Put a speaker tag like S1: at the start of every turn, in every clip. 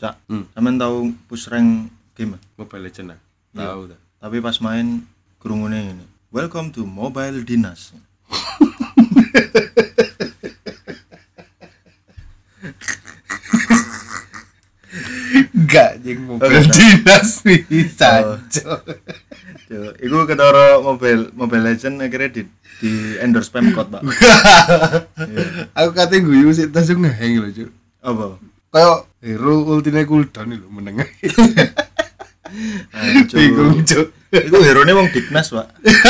S1: Cak, sampean tahu push rank game?
S2: Mobile Legends.
S1: Iya.
S2: Tahu ta.
S1: Tapi pas main krungune ini. Welcome to Mobile Dinas.
S2: Enggak jeng Mobile Dinas bisa.
S1: Iku ketara Mobile Legend akhirnya di endorse Pemkot, Pak.
S2: Aku kate guyu sik tas ngeheng lho, Cuk.
S1: Apa?
S2: Kayak hero ultine cooldown lho meneng.
S1: Bingung, Cuk. Iku hero-ne wong Dignas, Pak.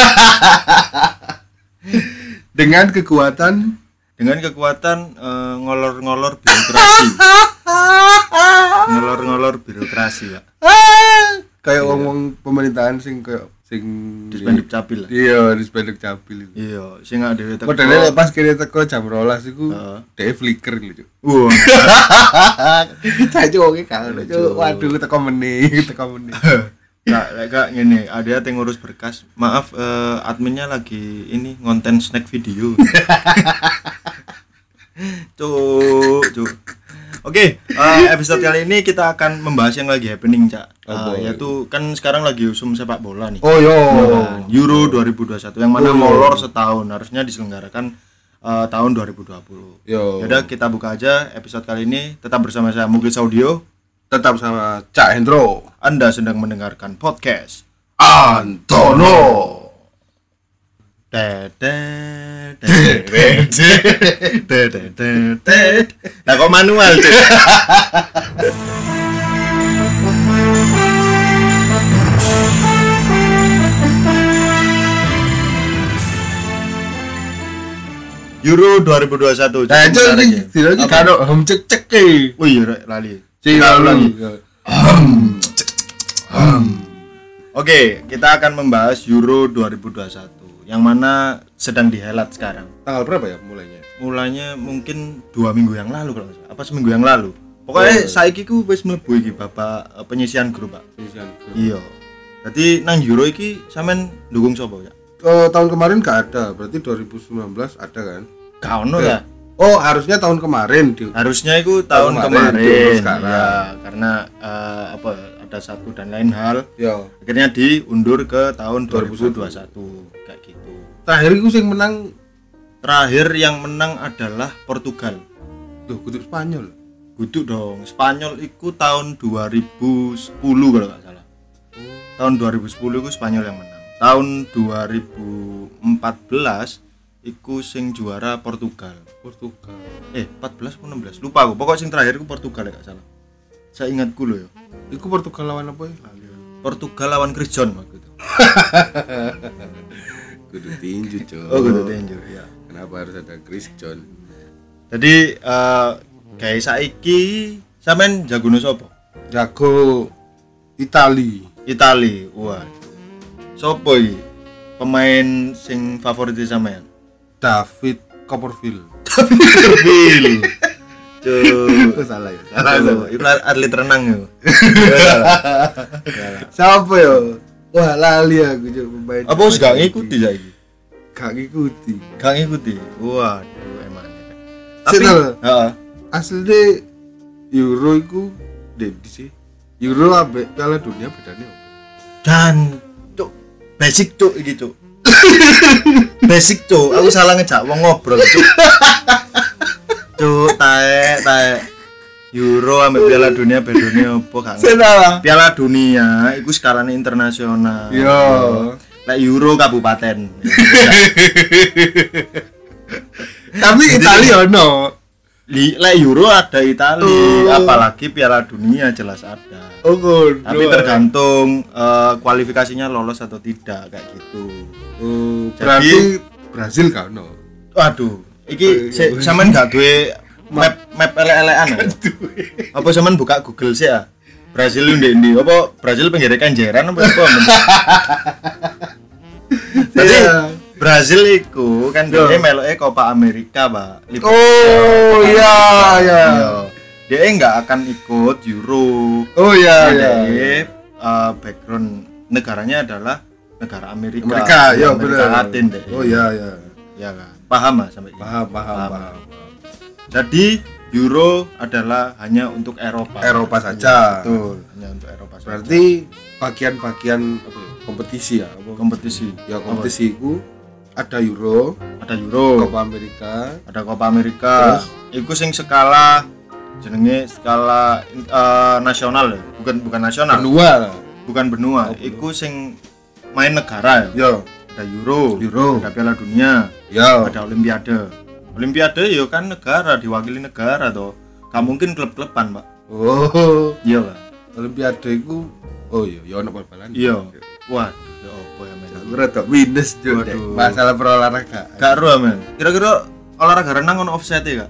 S2: Dengan kekuatan
S1: ngolor-ngolor birokrasi. Ngolor-ngolor birokrasi, Pak.
S2: Kayak wong pemerintahan sing
S1: Dispenduk capil lah.
S2: Iya, dispenduk capil itu.
S1: Iya, sing gak dhewe teko.
S2: Modele pas kene teko jam 12 iku dhewe flicker lho, Cuk.
S1: Wah.
S2: Cak wonge kangen, Cuk. Waduh, teko meneh.
S1: Kak ngene, ada yang ngurus berkas. Maaf, adminnya lagi ini ngonten snack video. Cuk. Oke, episode kali ini kita akan membahas yang lagi happening, Cak. Yaitu kan sekarang lagi usum sepak bola nih.
S2: Oh yo.
S1: Euro 2021 yang mana molor setahun, harusnya diselenggarakan tahun 2020. Yaudah kita buka aja episode kali ini. Tetap bersama saya Muglis Audio.
S2: Tetap sama Cak Hendro.
S1: Anda sedang mendengarkan podcast
S2: Antono.
S1: Nah kok manual tuh. Euro 2021.
S2: Nah, jadi karo cek e.
S1: Oh iya, lali.
S2: Lali.
S1: Oke, kita akan membahas Euro 2021 yang mana sedang dihelat sekarang.
S2: Tanggal berapa ya mulainya?
S1: Mulanya mungkin 2 minggu yang lalu kalau nggak salah. Apa seminggu yang lalu. Pokoknya saiki ku wis mlebu iki Bapak penyisian grup, Pak.
S2: Penyisian grup.
S1: Iya. Jadi nang Euro iki sampean dukung sapa ya?
S2: Tahun kemarin gak ada, berarti 2019 ada kan?
S1: Gak ono ya.
S2: Oh, harusnya tahun kemarin.
S1: Harusnya itu tahun kemarin.
S2: Sekarang.
S1: Ya, karena ada satu dan lain hal.
S2: Ya.
S1: Akhirnya diundur ke tahun 2021 kayak gitu.
S2: Terakhir itu
S1: yang menang adalah Portugal.
S2: Tuh, kudu Spanyol.
S1: Kudu dong. Spanyol itu tahun 2010 kalau enggak salah. Tahun 2010 itu Spanyol yang menang. Tahun 2014 iku sing juara Portugal. 14 atau 16 lupa aku. Pokoknya sing terakhir iku Portugal ya gak salah. Saya ingatku loh ya.
S2: Iku Portugal lawan apa ya?
S1: Portugal lawan Chris John waktu itu.
S2: Kudu tinju, Cok.
S1: Oh, kudu tinju ya.
S2: Kenapa harus ada Chris John?
S1: Jadi kayak saiki sampean jagone sapa?
S2: Jago Itali.
S1: Wah. Sopo iki? Pemain sing favorit sampean?
S2: David Copperfield.
S1: Cuk,
S2: Salah.
S1: Itu atlet renang yo.
S2: Siapa yo? Wah, lali aku Cuk pemain.
S1: Apa wis gak ngikuti saiki?
S2: Gak ngikuti.
S1: Waduh, emang.
S2: Tapi
S1: heeh.
S2: Asline Euro iku dedi sih. Euro ambek Piala Dunia bedanya apa?
S1: Dan Cuk, basic Cuk iki Cuk. Basic Cuk, aku salah ngejak wong ngobrol Cuk. Cuk, taek. Euro ambek Piala Dunia bedone opo gak?
S2: Salah.
S1: Piala Dunia iku skalane internasional.
S2: Yo.
S1: Lek Euro kabupaten.
S2: Tapi Italia ono.
S1: Lek Euro ada Italia, apalagi Piala Dunia jelas ada.
S2: Oh, God.
S1: Tapi tergantung kualifikasinya lolos atau tidak kayak gitu.
S2: Berarti Brazil gak ono.
S1: Waduh, iki sampean gak duwe map elek-elekan ya? Apa sampean buka Google sih ya? Brazil ndi? Apa Brazil pinggir Kenjeran apa? Jadi Brazil iku kan dia meloke Copa America, Pak.
S2: Oh iya.
S1: Dia enggak akan ikut Euro.
S2: Oh iya.
S1: Background negaranya adalah negara Amerika.
S2: Ya
S1: Amerika
S2: benar.
S1: Latin deh.
S2: Oh iya.
S1: Ya kan. Paham lah sampai
S2: Paham.
S1: Jadi Euro adalah hanya untuk Eropa.
S2: Eropa saja.
S1: Betul, hanya untuk Eropa saja.
S2: Berarti bagian-bagian apa ya? Kompetisi ya, apa?
S1: Kompetisi.
S2: Ya kompetisi itu ada Euro,
S1: Ada Euro,
S2: Copa America,
S1: ada Copa America.
S2: Terus?
S1: Iku sing skala jenenge skala nasional ya. Bukan nasional.
S2: benua.
S1: Bukan benua.
S2: Oh,
S1: Iku sing main negara ya.
S2: Yo,
S1: Ada Euro,
S2: Euro.
S1: ada Piala Dunia,
S2: yo.
S1: ada Olimpiade. Olimpiade ya kan negara, diwakili negara toh. Gak mungkin klub-kluban, Pak.
S2: Oh,
S1: Iya, Pak.
S2: Olimpiade itu, oh iya, ya ono bal-balan.
S1: Iya. Waduh, ya apa ya men.
S2: Aku rada minus juga deh.
S1: Waduh.
S2: Masalah berolahraga.
S1: Gak ero men. Kira-kira olahraga renang ono offset ya, Kak?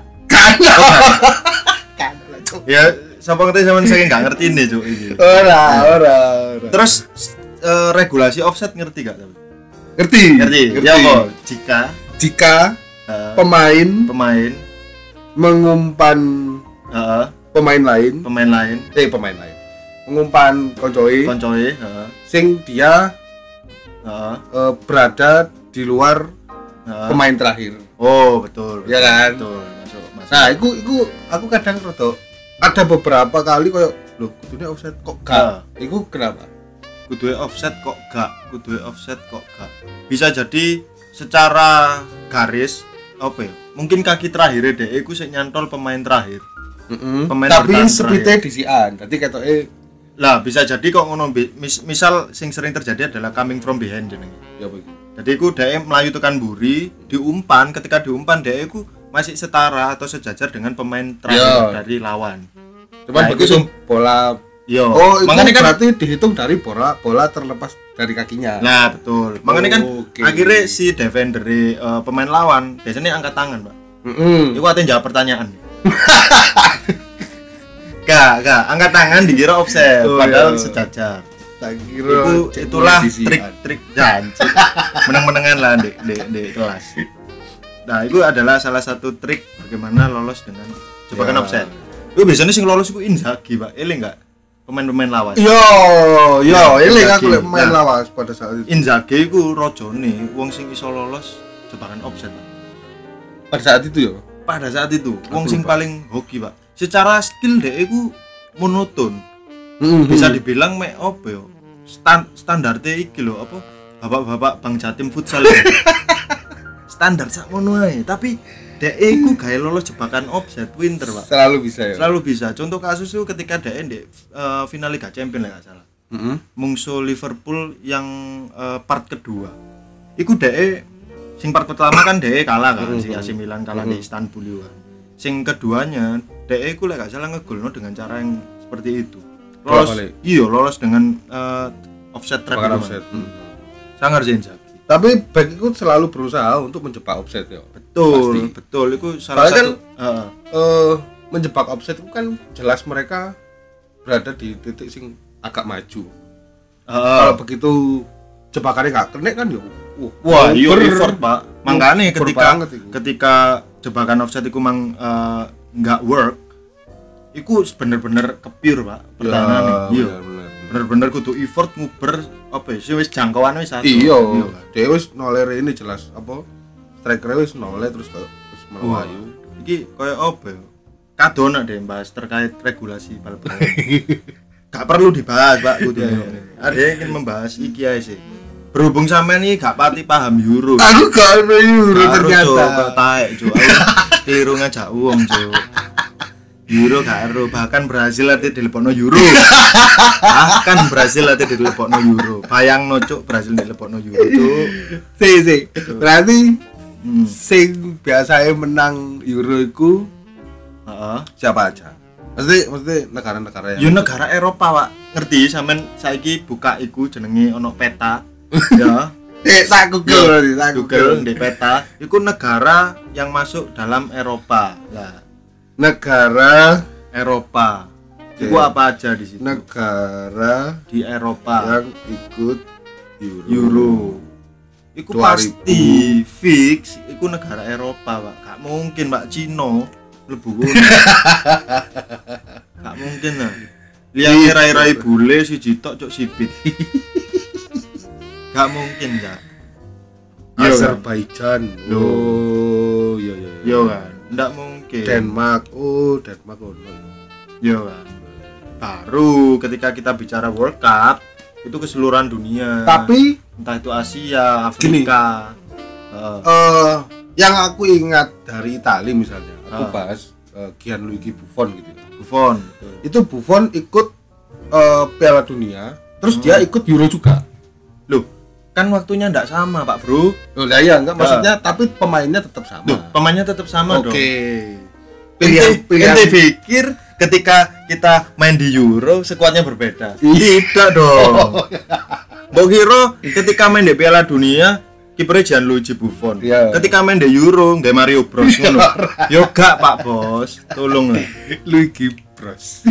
S2: Kan.
S1: Ya, sapa ngerti sampean saking gak ngerti nih, Cuk, iki.
S2: Ora.
S1: Terus regulasi offset ngerti gak tapi?
S2: Ngerti?
S1: Ngerti. Ya apa?
S2: Jika
S1: Eh,
S2: pemain
S1: pemain
S2: mengumpan
S1: heeh,
S2: pemain lain,
S1: pemain lain,
S2: mengumpan koncoe
S1: koncoe, heeh,
S2: sing dia
S1: heeh,
S2: berada di luar
S1: heeh.
S2: pemain terakhir.
S1: Oh, betul.
S2: Iya kan?
S1: Betul. Masuk.
S2: Nah, iku aku kadang rada ada beberapa kali koyo lho kudune offset kok gak. Iku kenapa?
S1: Kudu offset kok gak, bisa jadi secara garis apa ya, mungkin kaki terakhir deh iku sik nyantol pemain terakhir. Pemain
S2: Tapi
S1: bertahan
S2: speednya disian dadi ketoke
S1: lah bisa jadi kok ngono misal sing sering terjadi adalah coming from behind jenenge.
S2: ya apa iki?
S1: Jadi iku dhek melayu tekan buri, diumpan, ketika diumpan dhek iku masih setara atau sejajar dengan pemain terakhir dari lawan.
S2: Cuman
S1: Nah,
S2: begitu
S1: itu
S2: bola
S1: Yo,
S2: oh, itu
S1: makanya kan
S2: berarti dihitung dari bola terlepas dari kakinya.
S1: nah betul. Makanya kan
S2: Oke.
S1: akhirnya si defender pemain lawan biasanya angkat tangan, Pak. Iku ate jawab pertanyaan. Gak, angkat tangan dikira offset,
S2: Oh,
S1: padahal
S2: iya.
S1: sejajar.
S2: Tak kira
S1: Itulah
S2: disian.
S1: trik janji. Menang-menangan lah di kelas. Nah, itu adalah salah satu trik bagaimana lolos dengan jebakan
S2: Ya.
S1: offset. Itu biasanya sing lolos itu Inzaghi, Pak. Eling enggak? Pemain-pemain lawan.
S2: Yo, ini
S1: Inzaghi.
S2: aku lek main
S1: Nah.
S2: lawas pada saat itu.
S1: Inzaghi iku rajane wong sing iso lolos jebakan offset, Pak.
S2: Pada saat itu yo.
S1: Pada saat itu, wong
S2: Aku
S1: sing
S2: lupa.
S1: paling hoki, Pak. Secara skill dhek iku monoton. Bisa dibilang mek apa yo? Standarte iki lho, apa? Bapak-bapak Bang Jatim futsal. Standar sak ngono ae, tapi dhek iku gawe lolos jebakan offset pinter, Pak.
S2: Selalu bisa ya.
S1: Selalu bisa. Contoh kasus itu ketika dhek ndek final Liga Champions lah enggak salah. Mungsuh Liverpool yang part kedua. Iku dhek sing part pertama kan dhek kalah kan si AC Milan kalah di Istanbul juga. Sing keduanya dhek iku lek gak salah ngegolno dengan cara yang seperti itu. Lolos.
S2: Bolak-balik.
S1: Iya, lolos dengan offset trap
S2: Bakar
S1: itu,
S2: offset.
S1: Mas. Sangar Inzaghi.
S2: Tapi back itu selalu berusaha untuk menjebak offset ya.
S1: Betul, betul. Itu salah
S2: Soalnya
S1: satu
S2: menjebak offset itu kan jelas mereka berada di titik sing agak maju. Kalau begitu jebakannya nggak kena kan ya.
S1: wah, iya effort, Pak. Makanya
S2: Over
S1: ketika
S2: banget itu.
S1: ketika jebakan offset itu mang nggak work, itu bener-bener kepure, Pak. Pertahanannya. Iya.
S2: Bener.
S1: Bener-bener kudu effort nguber apa ya? Sih wis jangkauan wis satu.
S2: Iya,
S1: kan?
S2: dia wis noler ini jelas apa striker wis noler terus kayak wis melayu.
S1: Iki koyo apa ya? Kadona deh bahas terkait regulasi bal-balan. Gak perlu dibahas, Pak. Kudu. Ada yang ingin membahas iki ae sih. Berhubung sampean iki gak pati paham Euro.
S2: Aku gak ada Euro ternyata.
S1: Kok taek, Cuk. Aku keliru ngajak wong, Cuk. Euro gak ero, bahkan Brazil ate dilepokno Euro. Bahkan Brazil ate dilepokno Euro. Bayangno, Cuk, Brazil dilepokno Euro, Cuk.
S2: Si. Berarti sing biasanya menang Euro iku
S1: Heeh.
S2: siapa aja? Mesti negara-negara
S1: Yo
S2: yang
S1: negara Eropa, Pak. Ngerti sampean saiki buka iku jenenge ono peta. Ya.
S2: tak Google berarti, tak
S1: Google di peta, iku negara yang masuk dalam Eropa. Lah,
S2: negara
S1: Eropa. Iku
S2: Oke.
S1: apa aja di situ?
S2: negara
S1: Di Eropa.
S2: yang ikut
S1: Euro. Iku
S2: 2000.
S1: pasti fix iku negara Eropa, Pak. Gak mungkin, Pak, Cino mlebu kono. Gak mungkin lah. Lihat rai-rai bule siji tok cuk sipit. Gak mungkin, Cak. Iya kan?
S2: Azerbaijan.
S1: Loh.
S2: Oh, iya.
S1: Yo kan, ndak mungkin. Oke.
S2: Denmark. Oh, Denmark ono.
S1: Yo kan. Baru ketika kita bicara World Cup itu keseluruhan dunia.
S2: Tapi
S1: entah itu Asia, Afrika.
S2: Yang aku ingat dari Italia misalnya, aku bahas Gianluigi Buffon gitu.
S1: Buffon.
S2: Itu Buffon ikut Piala Dunia, terus dia ikut Euro juga.
S1: Loh, kan waktunya enggak sama, Pak Bro.
S2: Oh, lah ya enggak maksudnya, tapi pemainnya tetap sama.
S1: Loh, pemainnya tetap sama dong.
S2: Oke.
S1: Pilihan
S2: Pilihan
S1: pikir ketika kita main di Euro skuadnya berbeda. Tidak dong. Mbok kira ketika main di Piala Dunia kipernya Gianluigi Buffon.
S2: Iya.
S1: Ketika main di Euro nggak Mario Bros ngono. Yo gak Pak Bos, tolong lah.
S2: Luigi Bros.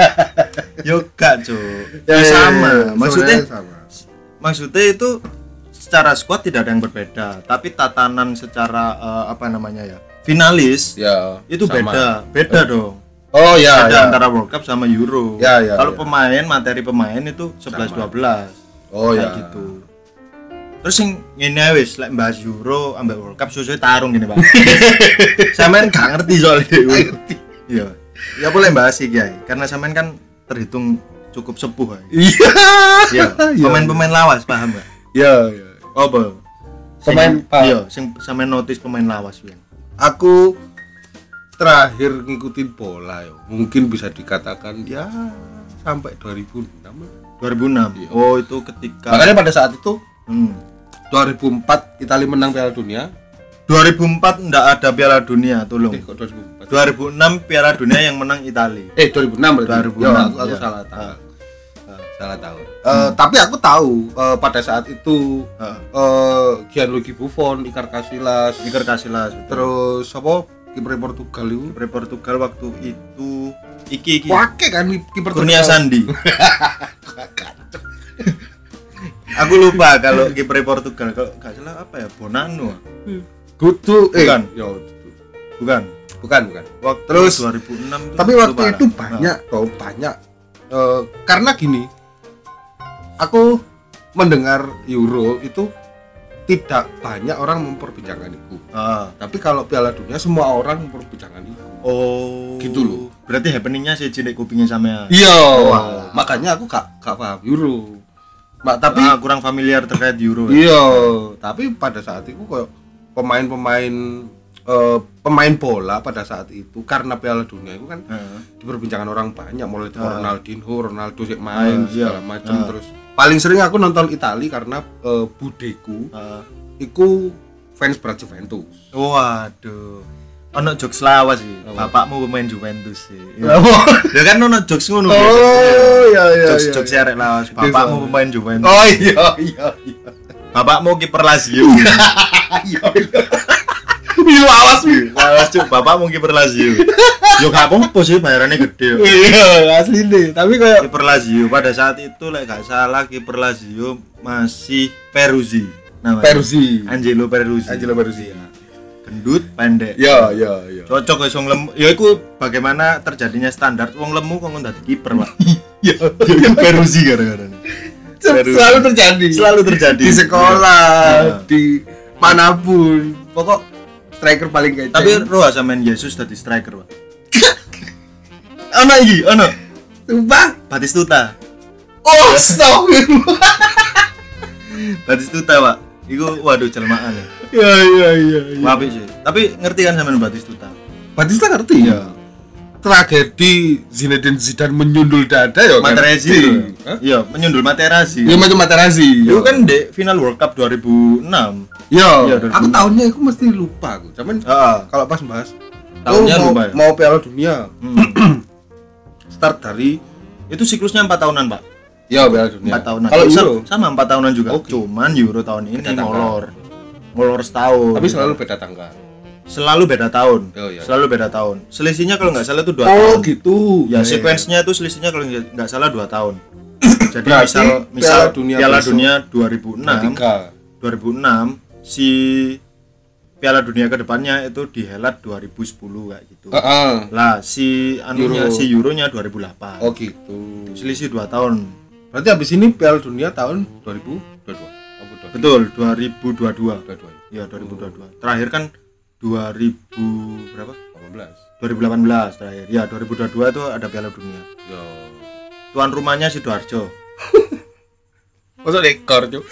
S1: Yo gak, Cuk.
S2: Ya,
S1: Sama. Maksudnya
S2: sama.
S1: maksudnya itu secara squad tidak ada yang berbeda, tapi tatanan secara apa namanya ya? Finalis
S2: Ya,
S1: itu
S2: sama.
S1: beda dong.
S2: Oh ya,
S1: Ada
S2: ya.
S1: antara World Cup sama Euro.
S2: Ya, ya,
S1: Kalau
S2: ya.
S1: materi pemain itu 11
S2: Sama.
S1: 12.
S2: Oh
S1: Kayak
S2: ya.
S1: gitu. Terus yang ngene wis lek bahas Euro ambek World Cup suwe tarung gini, Pak. Sampean gak ngerti soal itu. Iya. Ya boleh bahas iki ya, karena sampean kan terhitung cukup sepuh.
S2: Iya.
S1: Iya. Pemain-pemain lawas paham enggak?
S2: Ya, ya.
S1: Apa?
S2: Pemain
S1: iya, sing sampean notice pemain lawas Win.
S2: Aku terakhir ngikutin bola ya. Mungkin bisa dikatakan ya sampai 2006.
S1: 2006.
S2: Iya.
S1: Oh, itu ketika
S2: Makanya pada saat itu 2004
S1: 2004
S2: Italia menang Piala Dunia.
S1: 2004 enggak ada Piala Dunia, tolong.
S2: Kok 2004?
S1: 2006 Piala Dunia yang menang Italia.
S2: 2006 berarti.
S1: 2006,
S2: Ya, aku
S1: ya.
S2: salah tahun. Salah tahun. Tapi aku tahu pada saat itu Gianluigi Buffon, Iker Casillas, terus apa kiper Portugal itu?
S1: Kiper Portugal waktu itu iki
S2: Wake kan kiper
S1: Kurnia Sandi. Aku lupa kalau kiper Portugal, kalau enggak salah apa ya, Bonano.
S2: Kutu
S1: Bukan.
S2: Ya,
S1: Bukan.
S2: bukan.
S1: Waktu
S2: Terus
S1: 2006
S2: tapi waktu itu banyak karena gini, aku mendengar Euro itu tidak banyak orang memperbincangkan itu. Tapi kalau Piala Dunia semua orang memperbincangkan itu.
S1: Oh,
S2: Gitu loh.
S1: Berarti happeningnya sih cilik kupingnya sama.
S2: Iya.
S1: Wah.
S2: Makanya aku gak paham Euro. Tapi
S1: kurang familiar terkait Euro.
S2: iya, tapi pada saat itu kayak pemain bola pada saat itu karena Piala Dunia itu kan diperbincangkan orang banyak, mulai dari Ronaldinho, Ronaldo sih main segala macam. Terus paling sering aku nonton Italia karena budeku iku fans Juventus.
S1: Waduh. Ono jokes lawas sih. Bapakmu pemain Juventus sih. Ya kan ono jokes ngono.
S2: Iya.
S1: Jokes arek lawas. Bapakmu pemain Juventus.
S2: Oh iya.
S1: Bapakmu kiper Lazio.
S2: Iya. Iya awas wi.
S1: Lawas cuk, bapakmu kiper Lazio. Yo gak apa-apa sih bayarannya gede.
S2: Iya, asli deh. Tapi kayak
S1: Kiper Lazio pada saat itu lek gak salah kiper Lazio masih Peruzzi namanya. Angelo Peruzzi. Ya. Gendut, pendek.
S2: Ya.
S1: Cocok wis wong lemu. Ya iku bagaimana terjadinya standar wong lemu kok dadi kiper, Pak.
S2: Iya.
S1: Peruzzi gara-gara.
S2: Selalu terjadi di sekolah, di manapun. Pokok striker paling kece.
S1: Tapi roh sampean Yesus dadi striker, Pak. Ono.
S2: Sumpah.
S1: Batistuta.
S2: Oh, stop.
S1: Batistuta, Pak. Iku waduh jelmaan ya.
S2: Iya.
S1: Apik sih. Tapi ngerti kan sampean Batistuta?
S2: Batista ngerti ya. Tragedi Zinedine Zidane menyundul dada ya.
S1: Materazzi. Iya, menyundul Materazzi.
S2: Iya macam Materazzi.
S1: Itu kan di final World Cup 2006.
S2: Iya,
S1: Iya,
S2: aku tahunnya aku mesti lupa aku. Cuman kalau pas bahas
S1: tahunnya lupa ya?
S2: mau Piala Dunia. Start dari
S1: Itu siklusnya 4 tahunan, Pak.
S2: ya Piala Dunia.
S1: 4 tahunan.
S2: Kalau Euro
S1: sama 4 tahunan juga.
S2: Oke.
S1: Cuman Euro tahun ini
S2: Beda tanggal.
S1: Molor setahun.
S2: tapi selalu beda tanggal.
S1: Selalu beda tahun.
S2: Oh, iya.
S1: Selalu beda tahun. Selisihnya kalau nggak salah itu 2
S2: Oh
S1: tahun.
S2: gitu.
S1: Ya, sequence-nya itu selisihnya kalau nggak salah 2 tahun. Jadi
S2: Berarti
S1: misal Piala
S2: besok
S1: Dunia 2006. 2006 si Piala Dunia kedepannya itu dihelat 2010 kayak gitu. Lah si anunya
S2: Euro.
S1: si Euronya 2008.
S2: Oh gitu.
S1: Selisih 2 tahun.
S2: Berarti habis ini Piala Dunia tahun 2022.
S1: Betul, 2022.
S2: 22.
S1: Ya, 2022. Terakhir kan 2000 berapa?
S2: 2018
S1: terakhir. Ya, 2022 itu ada Piala Dunia.
S2: Yo.
S1: Tuan rumahnya Sidoarjo.
S2: Masa dekor, Cuk.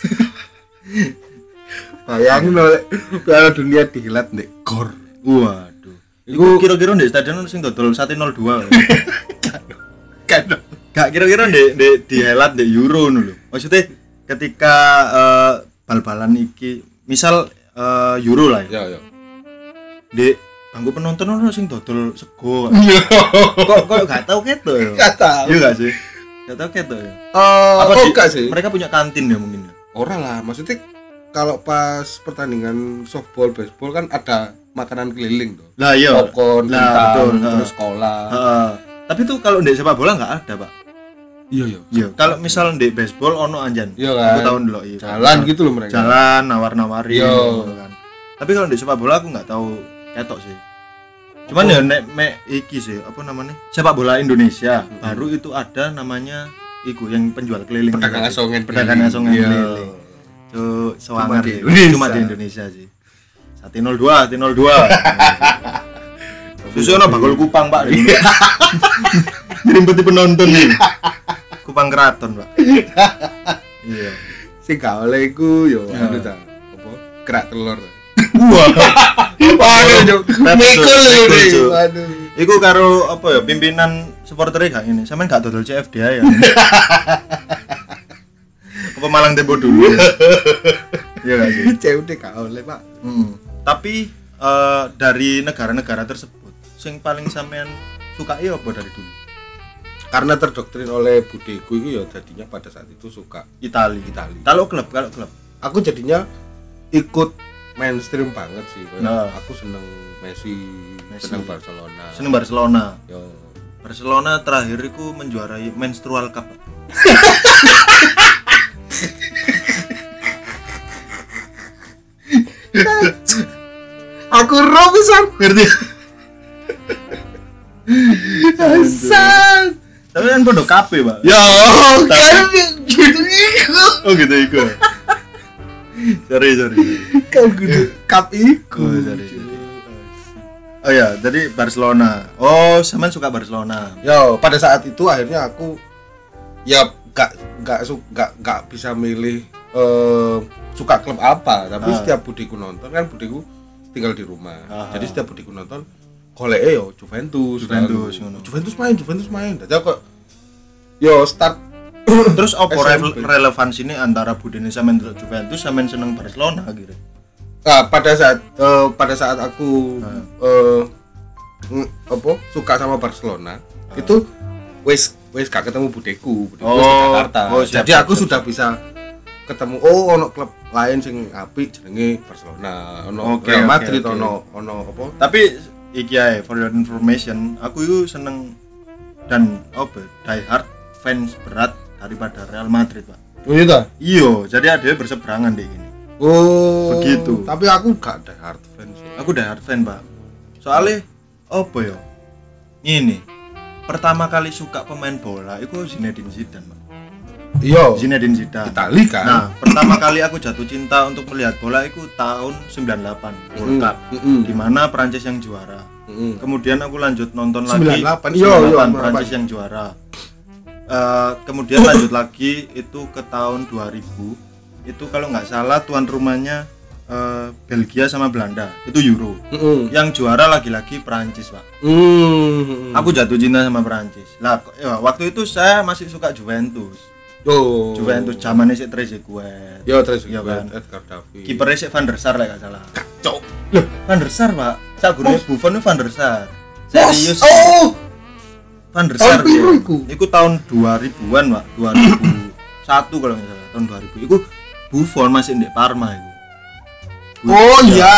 S2: Bayangin oleh Piala Dunia dihelat ndek gor.
S1: Waduh. Iku kira-kira ndek stadion sing dodol 102.
S2: Kan.
S1: Gak kira-kira ndek dihelat ndek Euro ngono lho. Maksudnya ketika bal-balan iki misal Euro lah ya.
S2: Ya.
S1: Ndek bangku penonton ono sing dodol sego. Kok gak tau ketok ya?
S2: Gak tahu.
S1: Iya gak sih? Gak tau ketok ya?
S2: Enggak sih.
S1: Mereka punya kantin ya mungkin ya.
S2: Orang lah, maksudnya kalau pas pertandingan softball, baseball kan ada makanan keliling tuh.
S1: Lah iya.
S2: Popcorn,
S1: betul,
S2: terus sekolah.
S1: Tapi tuh kalau ndek sepak bola enggak ada, Pak.
S2: Iya.
S1: Kalau misal ndek baseball ono anjan.
S2: Iya kan.
S1: Aku tahu ndelok iya.
S2: Jalan gitu loh mereka.
S1: Jalan nawar-nawari
S2: Iya.
S1: gitu kan. Tapi kalau ndek sepak bola aku enggak tahu ketok sih. Cuman ya nek iki sih, apa namanya? Sepak bola Indonesia. Baru itu ada namanya iku yang penjual keliling.
S2: Pedagang asongan
S1: keliling. Cuk, sewangar cuma di Indonesia sih. 102. Susuno bakul Kupang, Pak. Ngrimpeti penonton nih. Kupang Keraton, Pak. Iya.
S2: Sing gak oleh iku yo anu ta. Apa? Kerak telur.
S1: Wah.
S2: Waduh, mikul iki. Waduh.
S1: Iku karo apa ya pimpinan supporternya gak ini. Sampeyan gak dodol CFDA ya. Apa Malang Tempo dulu. Iya gak sih?
S2: CFD gak oleh, Pak.
S1: Tapi dari negara-negara tersebut sing paling sampean sukai apa dari dulu?
S2: Karena terdoktrin oleh budeku itu ya jadinya pada saat itu suka
S1: Itali. Kalau klub.
S2: Aku jadinya ikut mainstream banget sih.
S1: Nah.
S2: Aku seneng Messi. Seneng
S1: Barcelona.
S2: Yo.
S1: Barcelona terakhir itu menjuarai menstrual cup.
S2: Aku roh pisan
S1: Ngerti?
S2: Asal.
S1: Tapi kan pondok kape, Pak.
S2: Ya, kan gitu iku.
S1: Oh gitu iku. Sorry.
S2: Kan gitu cup iku.
S1: Sorry. Oh ya, jadi Barcelona. Oh, sampean suka Barcelona.
S2: Yo, pada saat itu akhirnya aku ya gak bisa milih suka klub apa, tapi setiap budiku nonton kan budiku tinggal di rumah. Jadi setiap budiku nonton goleke yo Juventus ngono. Juventus main. Dadi kok yo start
S1: terus apa relevansi ini antara budine sampean delok Juventus sampean seneng Barcelona gitu.
S2: Nah, pada saat aku suka sama Barcelona, itu wis gak ketemu budeku di Jakarta. Jadi aku sudah bisa ketemu ono klub lain sing apik jenenge Barcelona, ono Real Madrid, ono apa.
S1: Tapi iki ae for your information, aku itu seneng dan die hard fans berat daripada Real Madrid, Pak.
S2: Oh iya ta?
S1: Iya, jadi ada berseberangan deh ini.
S2: Oh,
S1: begitu.
S2: Tapi aku gak die hard fans.
S1: Aku die hard fan, Pak. Soalnya ya? Ini pertama kali suka pemain bola itu Zinedine Zidane, Pak.
S2: Iya,
S1: Zinedine Zidane.
S2: Itali kan.
S1: Nah, pertama kali aku jatuh cinta untuk melihat bola itu tahun 98 World Cup. Di mana Prancis yang juara. Kemudian aku lanjut nonton
S2: 98.
S1: lagi 98 Prancis yang juara. Kemudian lanjut lagi itu ke tahun 2000. Itu kalau nggak salah tuan rumahnya Belgia sama Belanda. Itu Euro. Yang juara lagi-lagi Prancis, Pak. Aku jatuh cinta sama Prancis. Lah, waktu itu saya masih suka Juventus. Juventus zamannya si Trezeguet.
S2: Trezeguet, Edgar Davids.
S1: Kipernya si Van der Sar lah enggak salah.
S2: Kacau.
S1: Loh, Van der Sar, Pak. Sagune Buffon itu Van der Sar. Serius. Van der Sar. Iku tahun 2000-an, Pak. 2001 kalau enggak salah, tahun 2000. Iku Buffon masih di Parma iku.
S2: Iya.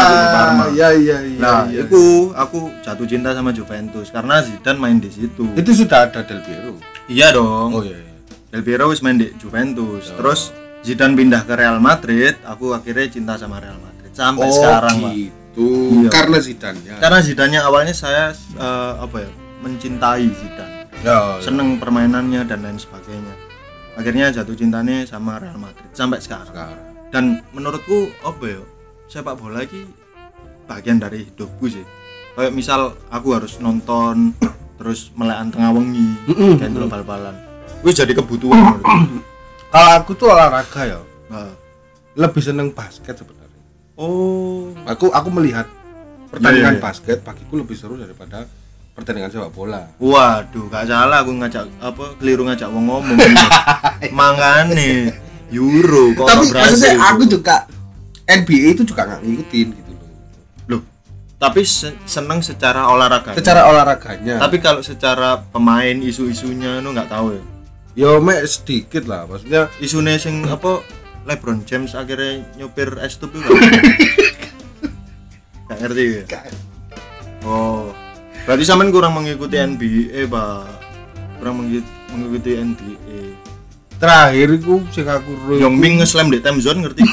S1: Nah, iku aku jatuh cinta sama Juventus karena Zidane main di situ.
S2: Itu sudah ada Del Piero.
S1: Iya dong.
S2: Oh iya.
S1: Del Piero wis main di Juventus. Terus Zidane pindah ke Real Madrid, aku akhirnya cinta sama Real Madrid sampai sekarang, Pak.
S2: Gitu. Iya. Karena Zidane-nya.
S1: Karena Zidane-nya awalnya saya mencintai Zidane. Seneng permainannya dan lain sebagainya. Akhirnya jatuh cintanya sama Real Madrid sampai sekarang. Dan menurutku sepak bola ini bagian dari hidupku sih. Kayak misal aku harus nonton terus melekan tengah wengi kayak ndelok bal-balan. Wis jadi kebutuhan.
S2: Kalau aku tuh olahraga ya. Lebih seneng basket sebenarnya.
S1: Oh,
S2: Aku melihat pertandingan basket bagiku lebih seru daripada pertandingan sepak bola.
S1: Waduh, gak salah aku keliru ngajak wong ngomong. Mangane Euro kok
S2: Tapi maksudnya
S1: Brasil.
S2: aku juga NBA itu juga nggak ngikutin gitu loh.
S1: Loh, tapi seneng secara olahraga.
S2: Secara olahraganya.
S1: Tapi kalau secara pemain isu-isunya nu nggak tahu ya.
S2: Yo mek sedikit lah, maksudnya
S1: Isune sing LeBron James akhirnya nyopir es tube itu. Gak ngerti ya? Oh, berarti sampean kurang mengikuti NBA, Pak. Kurang mengikuti NBA.
S2: terakhir iku sing aku
S1: Yongming nge-slam di time zone ngerti?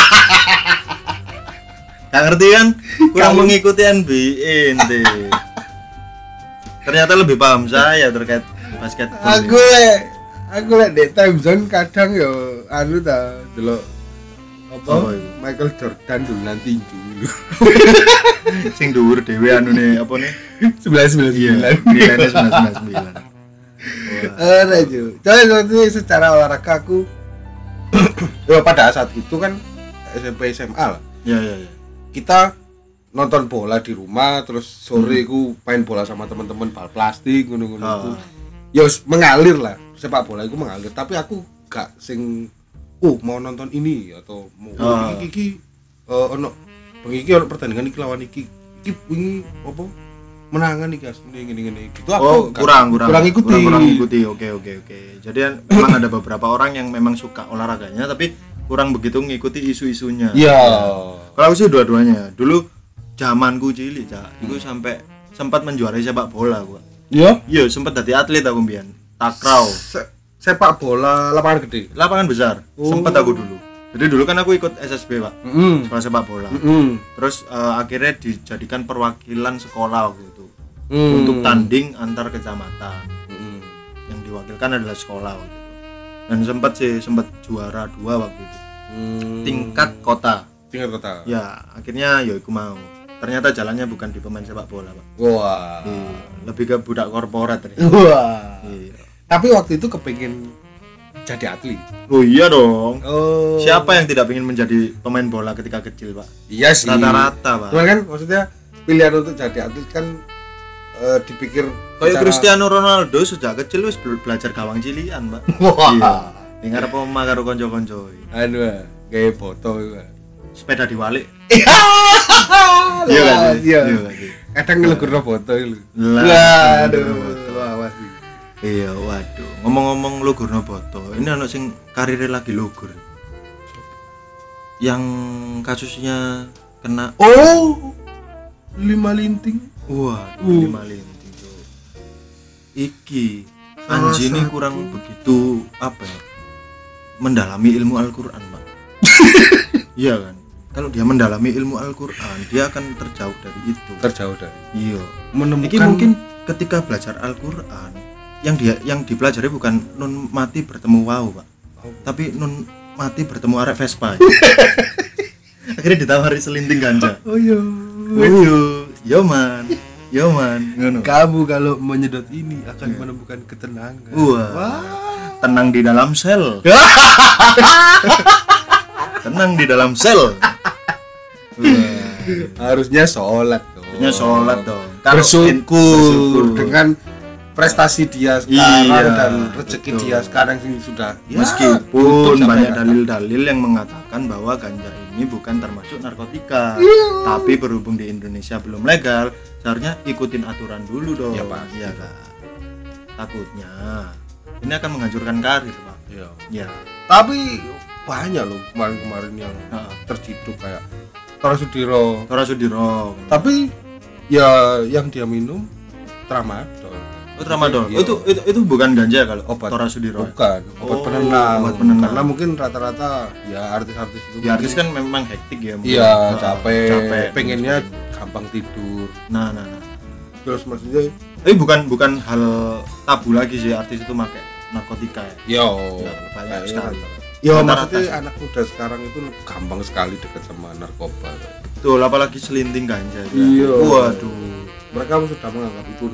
S1: Gak ngerti kan? Kurang mengikuti NBA ente. Ternyata lebih paham saya terkait basketball.
S2: Aku lek di time zone kadang yo anu ta delok apa
S1: itu?
S2: Michael Jordan dulu nanti dulu.
S1: Sing dhuwur dhewe anune apa nih?
S2: 1999.
S1: Nilainya 999.
S2: Ora jo. Jadi secara olahraga aku ya pada saat itu kan SMP SMA lah.
S1: Ya.
S2: Kita nonton bola di rumah terus sore ku main bola sama teman-teman bal plastik ngono-ngono itu. Ya mengalir lah. Sepak bola itu mengalir, tapi aku gak sing mau nonton ini atau mau iki ono bengi iki ono pertandingan iki lawan iki wingi apa menangan iki asline ngene-ngene gitu. Aku
S1: kurang
S2: ikuti.
S1: Oke. Jadi memang ada beberapa orang yang memang suka olahraganya tapi kurang begitu ngikuti isu-isunya.
S2: Iya.
S1: Kalau aku sih dua-duanya. Dulu zamanku cilik, Cak. Iku sampai sempat menjuarai sepak bola gua.
S2: Iya?
S1: Iya, sempat jadi atlet aku mbiyen. Takraw.
S2: Sepak bola lapangan gede.
S1: Lapangan besar. Sempat aku dulu. Jadi dulu kan aku ikut SSB, Pak. Sekolah sepak bola. Terus akhirnya dijadikan perwakilan sekolah waktu itu. Untuk tanding antar kecamatan. Yang diwakilkan adalah sekolah waktu itu. Dan sempat juara 2 waktu itu. Tingkat kota. Ya, akhirnya ya aku mau. Ternyata jalannya bukan di pemain sepak bola, Pak.
S2: Wah.
S1: Lebih ke budak korporat ternyata.
S2: Wah.
S1: Iya.
S2: Tapi waktu itu kepengin jadi atlet.
S1: Oh iya dong.
S2: Oh.
S1: Siapa yang tidak ingin menjadi pemain bola ketika kecil, Pak?
S2: Iya sih.
S1: Rata-rata, Pak.
S2: Cuman kan maksudnya pilihan untuk jadi atlet kan dipikir
S1: kayak Cristiano Ronaldo sejak kecil wis belajar gawang cilian, Pak.
S2: Wah.
S1: Iya. Dengar apa omah karo kanca-kanca.
S2: Anu gawe foto iku.
S1: Sepeda diwalik.
S2: Iya kan? Iya.
S1: Iya.
S2: Kadang ngelegurno foto iku.
S1: Lah,
S2: Aduh. Awas.
S1: Iya, waduh. Ngomong-ngomong logurno foto, ini anak sing karirnya lagi logur. Yang kasusnya kena
S2: 5 linting.
S1: wah 5 linting tuh. Iki Anji ini kurang begitu apa ya? Mendalami ilmu Al-Qur'an, Pak. Iya kan? Kalau dia mendalami ilmu Al-Qur'an, dia akan terjauh dari itu. Iya. Iki mungkin ketika belajar Al-Qur'an yang dipelajari bukan nun mati bertemu wau, Pak. Tapi nun mati bertemu arek Vespa. Akhirnya ditawari selinting ganja.
S2: Oh iya.
S1: Yo man. Ngono.
S2: Kamu kalau menyedot ini akan menemukan ketenangan.
S1: Wah. Tenang di dalam sel. Tenang di dalam sel.
S2: Harusnya sholat dong.
S1: Bersyukur
S2: dengan prestasi dia sekarang dan rezeki dia sekarang sih sudah
S1: meskipun banyak dalil-dalil yang mengatakan bahwa ganja ini bukan termasuk narkotika, tapi berhubung di Indonesia belum legal, seharusnya ikutin aturan dulu dong.
S2: Ya Pak.
S1: Iya kan. Takutnya ini akan menghancurkan karir, Pak.
S2: Iya. Tapi banyak loh kemarin yang terciduk kayak Tora Sudiro. Tapi ya yang dia minum tramadol.
S1: Tramadol. Itu bukan ganja kalau
S2: obat
S1: Tora Sudiro.
S2: Bukan, obat penenang. Karena mungkin rata-rata ya artis-artis itu.
S1: Ya artis kan memang hektik ya.
S2: Iya, capek. Pengennya gampang tidur.
S1: Nah.
S2: Terus maksudnya
S1: bukan hal tabu lagi sih artis itu pakai narkotika ya. Banyak sekali.
S2: Maksudnya anak muda sekarang itu gampang sekali dekat sama narkoba.
S1: Betul, apalagi selinting ganja.
S2: Iya.
S1: Waduh.
S2: mereka sudah menganggap itu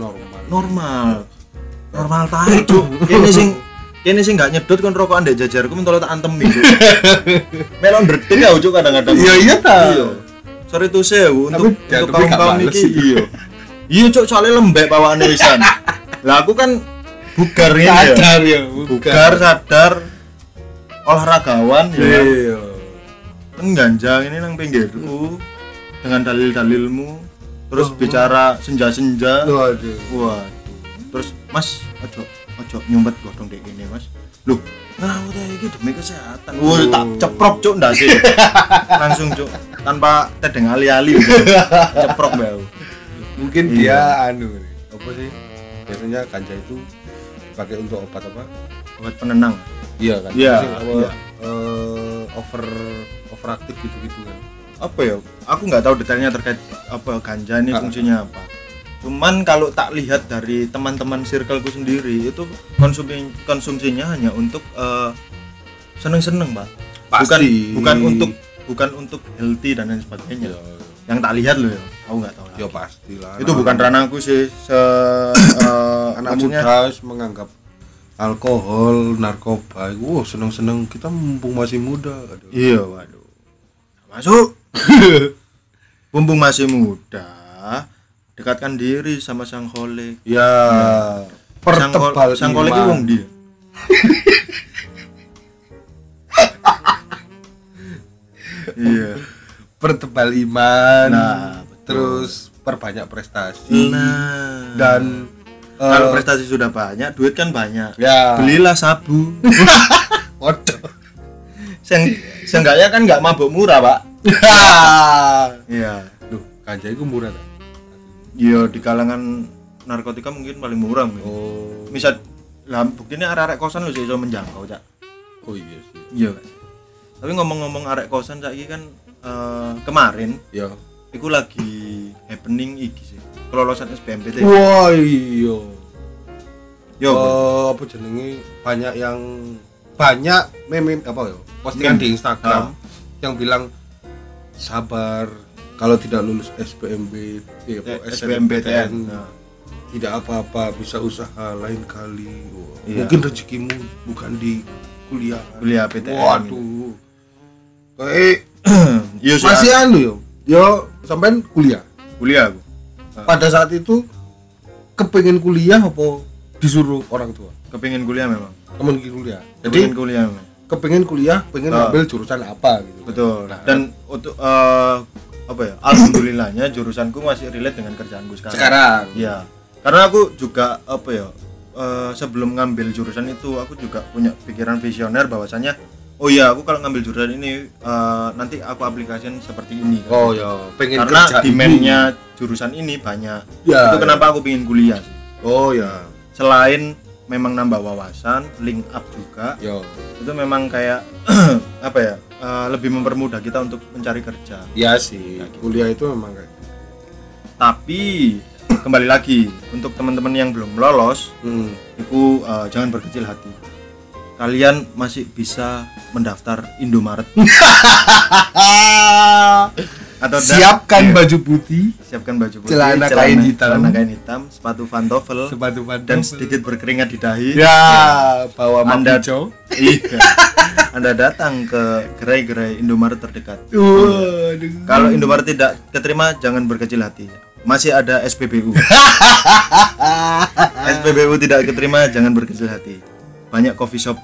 S1: normal tae cuk. Kene sing gak nyedot kon rokokan ndek jajarku mentolo tak antemi cuk. Melon ndredeg ya cuk kadang-kadang.
S2: Iya ta.
S1: Sore tuh sewu untuk kaum iki iya. Iya cuk soalnya lembek bawaane wisan. Lah aku kan bugar ya. Bugar sadar olahragawan ya.
S2: Iya.
S1: Ngganjang ini nang pinggirku dengan dalil-dalilmu. Terus bicara senja-senja. Waduh. Terus Mas, ojo nyumpet godhong dek ini Mas. Loh, ngawur iki demi kesehatan. Wah, tak ceprok cuk ndase. Langsung cuk, tanpa tedeng ali-ali. Ceprok bau.
S2: Mungkin dia apa sih? Biasanya ganja itu dipakai untuk obat apa?
S1: Obat penenang.
S2: Iya kan?
S1: Iya.
S2: Overaktif gitu kan.
S1: Apa ya? Aku nggak tahu detailnya terkait apa ganja ini fungsinya apa. Cuman kalau tak lihat dari teman-teman circleku sendiri itu konsumsinya hanya untuk seneng-seneng, Pak.
S2: Pasti.
S1: Bukan untuk healthy dan lain sebagainya. Ya. Yang tak lihat loh ya. Aku enggak tahu lah.
S2: Ya pastilah.
S1: Itu bukan ranahku sih.
S2: Anak muda menganggap alkohol, narkoba. Seneng-seneng kita mumpung masih muda. Aduh.
S1: Iya, waduh. Masuk. Mumpung masih muda. Dekatkan diri sama sang kholik.
S2: Ya, pertebal
S1: sang kholik itu wong dia. Iya,
S2: pertebal iman.
S1: Nah,
S2: terus perbanyak prestasi.
S1: Nah,
S2: dan
S1: kalau prestasi sudah banyak, duit kan banyak.
S2: Ya.
S1: Belilah sabu.
S2: Waduh.
S1: Seenggaknya kan nggak mabuk murah, Pak. Iya.
S2: Duh, ganja itu murah tak?
S1: Iya, di kalangan narkotika mungkin paling murah mungkin.
S2: Oh.
S1: Misal lah buktinya arek-arek kosan lu iso menjangkau, Cak.
S2: Oh iya sih.
S1: Iya. Tapi ngomong-ngomong arek kosan saiki kan kemarin
S2: ya
S1: iku lagi happening iki sih. Kelolosan SBMPTN.
S2: Wah, iya.
S1: Yo,
S2: apa jenenge banyak meme apa ya? Postingan di Instagram yang bilang sabar kalau tidak lulus SBMPTN tidak apa-apa, bisa usaha lain kali. Iya. Mungkin rezekimu bukan di kuliah PTN. Waduh. Kayak masih yo sampean kuliah
S1: aku.
S2: Pada saat itu kepengen kuliah apa disuruh orang tua?
S1: Kepengen kuliah memang.
S2: Jadi kepengen kuliah, pengen ngambil jurusan apa gitu.
S1: Betul. Nah, dan untuk alhamdulillahnya jurusanku masih relate dengan kerjaanku sekarang. Iya. Karena aku juga sebelum ngambil jurusan itu aku juga punya pikiran visioner bahwasanya aku kalau ngambil jurusan ini nanti aku aplikasikan seperti ini.
S2: Oh ya, pengen
S1: karena demand-nya jurusan ini banyak. Ya, itu kenapa aku pengen kuliah sih.
S2: Oh ya.
S1: Selain memang nambah wawasan, link up juga. Yo. Itu memang kayak lebih mempermudah kita untuk mencari kerja.
S2: Iya sih. Gitu. Kuliah itu memang kayak.
S1: Tapi kembali lagi untuk teman-teman yang belum lolos, itu jangan berkecil hati. Kalian masih bisa mendaftar Indomaret. Atau
S2: siapkan baju putih,
S1: celana kain hitam, sepatu pantofel, dan sedikit berkeringat di dahi.
S2: Ya, bawa hijau.
S1: Iya. Anda datang ke gerai-gerai Indomaret terdekat. Kalau Indomaret tidak keterima, jangan berkecil hati. Masih ada SPBU. SPBU tidak keterima, jangan berkecil hati. Banyak coffee shop.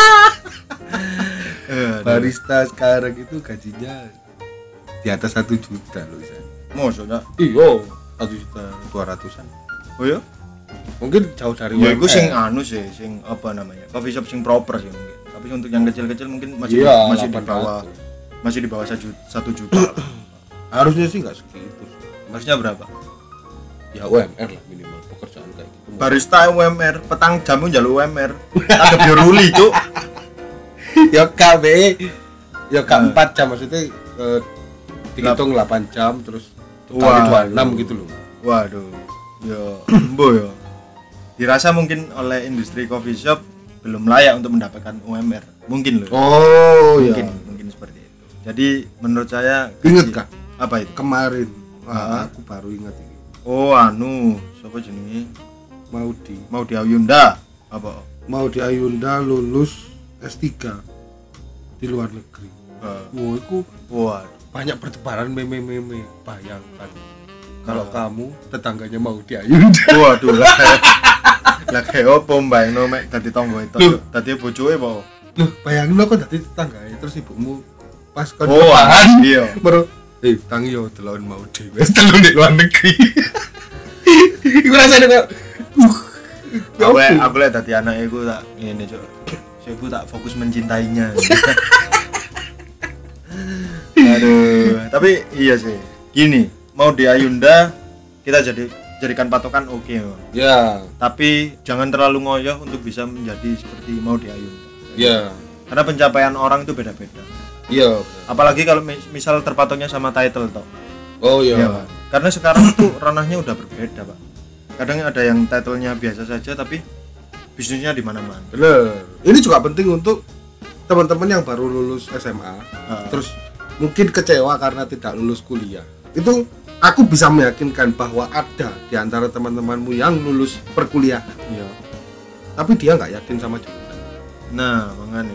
S2: Barista sekarang itu gajinya di atas 1 juta loh, San.
S1: Maksudnya?
S2: Iya, 1.200.000-an.
S1: Oh ya?
S2: Mungkin jauh dari
S1: ya, itu sing sing apa namanya? Coffee shop sing proper sih mungkin. Tapi untuk yang kecil-kecil mungkin masih di bawah 1 juta.
S2: Harusnya sih enggak segitu.
S1: Harusnya berapa?
S2: Ya UMR lah minimal pekerjaan kayak gitu.
S1: Barista UMR, petang jamu njaluk UMR. Agak bioruli, Cuk.
S2: Ya KB. Ya K4 jam maksudnya dihitung 8 jam terus kali 26 gitu loh.
S1: Waduh. Ya, mbo ya. Dirasa mungkin oleh industri coffee shop belum layak untuk mendapatkan UMR. Mungkin loh.
S2: Oh,
S1: mungkin seperti itu. Jadi menurut saya
S2: ingat Kak,
S1: apa itu?
S2: Kemarin aku baru ingat ini.
S1: Oh, anu, siapa jenenge?
S2: Maudi
S1: Ayunda. Apa?
S2: Maudi Ayunda lulus S3 di luar negeri. Wah, itu banyak pertebaran meme-meme. Bayangkan kalau kamu tetangganya Maudi Ayunda.
S1: Waduh lah. Lah kayak opo mbayangno mek dadi tangga itu. Dadi bojoke apa?
S2: Loh, bayangin lo kok dadi tetanggae terus ibumu pas kon
S1: iya.
S2: Baru tangi yo delon Maudi wis delon di luar negeri. Iku rasane kok
S1: aku lihat tadi anaknya aku tak ini cok, aku tak fokus mencintainya. Aduh, tapi iya sih. Gini, Maudi Ayunda kita jadikan patokan oke.
S2: Ya.
S1: Tapi jangan terlalu ngoyoh untuk bisa menjadi seperti Maudi Ayunda.
S2: Ya.
S1: Karena pencapaian orang itu beda-beda.
S2: Iya.
S1: Apalagi kalau misal terpatoknya sama title toh.
S2: Oh iya.
S1: Ya, karena sekarang tuh ranahnya udah berbeda, Pak. Kadang ada yang title-nya biasa saja tapi bisnisnya di mana-mana.
S2: Bener. Ini juga penting untuk teman-teman yang baru lulus SMA, terus mungkin kecewa karena tidak lulus kuliah. Itu aku bisa meyakinkan bahwa ada di antara teman-temanmu yang lulus perkuliahan.
S1: Iya.
S2: Tapi dia nggak yakin sama jurusan.
S1: Nah, makanya.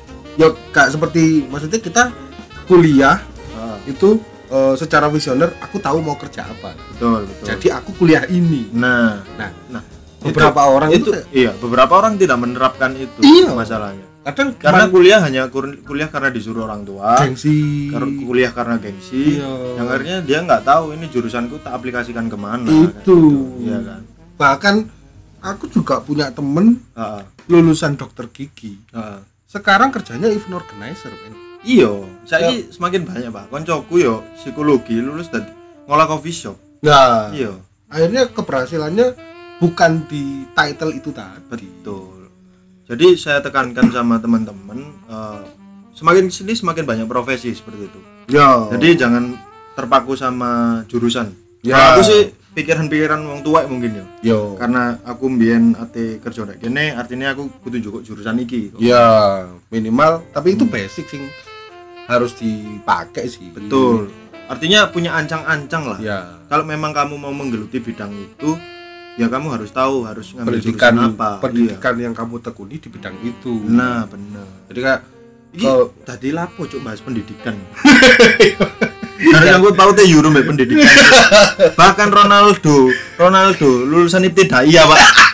S2: Ya kayak seperti maksudnya kita kuliah itu secara visioner aku tahu mau kerja apa.
S1: Betul.
S2: Jadi aku kuliah ini.
S1: Nah,
S2: beberapa orang itu
S1: iya, beberapa orang tidak menerapkan itu.
S2: Iya.
S1: Masalahnya.
S2: Kadang
S1: karena kuliah hanya kuliah karena disuruh orang tua.
S2: Gengsi.
S1: Kuliah karena gengsi.
S2: Iya.
S1: Yang akhirnya dia nggak tahu ini jurusanku tak aplikasikan kemana.
S2: Itu.
S1: Iya kan.
S2: Bahkan aku juga punya temen lulusan dokter gigi. Sekarang kerjanya event organizer, men.
S1: Iya, saiki semakin banyak, Pak. Koncoku yo psikologi lulus dan ngolah coffee shop.
S2: Nah,
S1: iya.
S2: Akhirnya keberhasilannya bukan di title itu tadi.
S1: Betul. Jadi saya tekankan sama teman-teman, semakin sini semakin banyak profesi seperti itu.
S2: Ya.
S1: Jadi jangan terpaku sama jurusan.
S2: Ya.
S1: Kalau aku sih pikiran-pikiran wong tua mungkin ya.
S2: Yo.
S1: Karena aku mbiyen ate kerja nek kene, artinya aku kudu njuk jurusan iki.
S2: Ya, minimal tapi itu basic sing harus dipakai sih.
S1: Betul. Artinya punya ancang-ancang lah.
S2: Ya.
S1: Kalau memang kamu mau menggeluti bidang itu, ya kamu harus tahu harus ngambil
S2: pendidikan
S1: jurusan apa.
S2: Pendidikan yang kamu tekuni di bidang itu.
S1: Nah, benar.
S2: Jadi kayak
S1: tadi lapo cuk bahas pendidikan. Karena aku tahu teh Euro mbek pendidikan. Bahkan Ronaldo lulusan ibtidaiyah, Pak.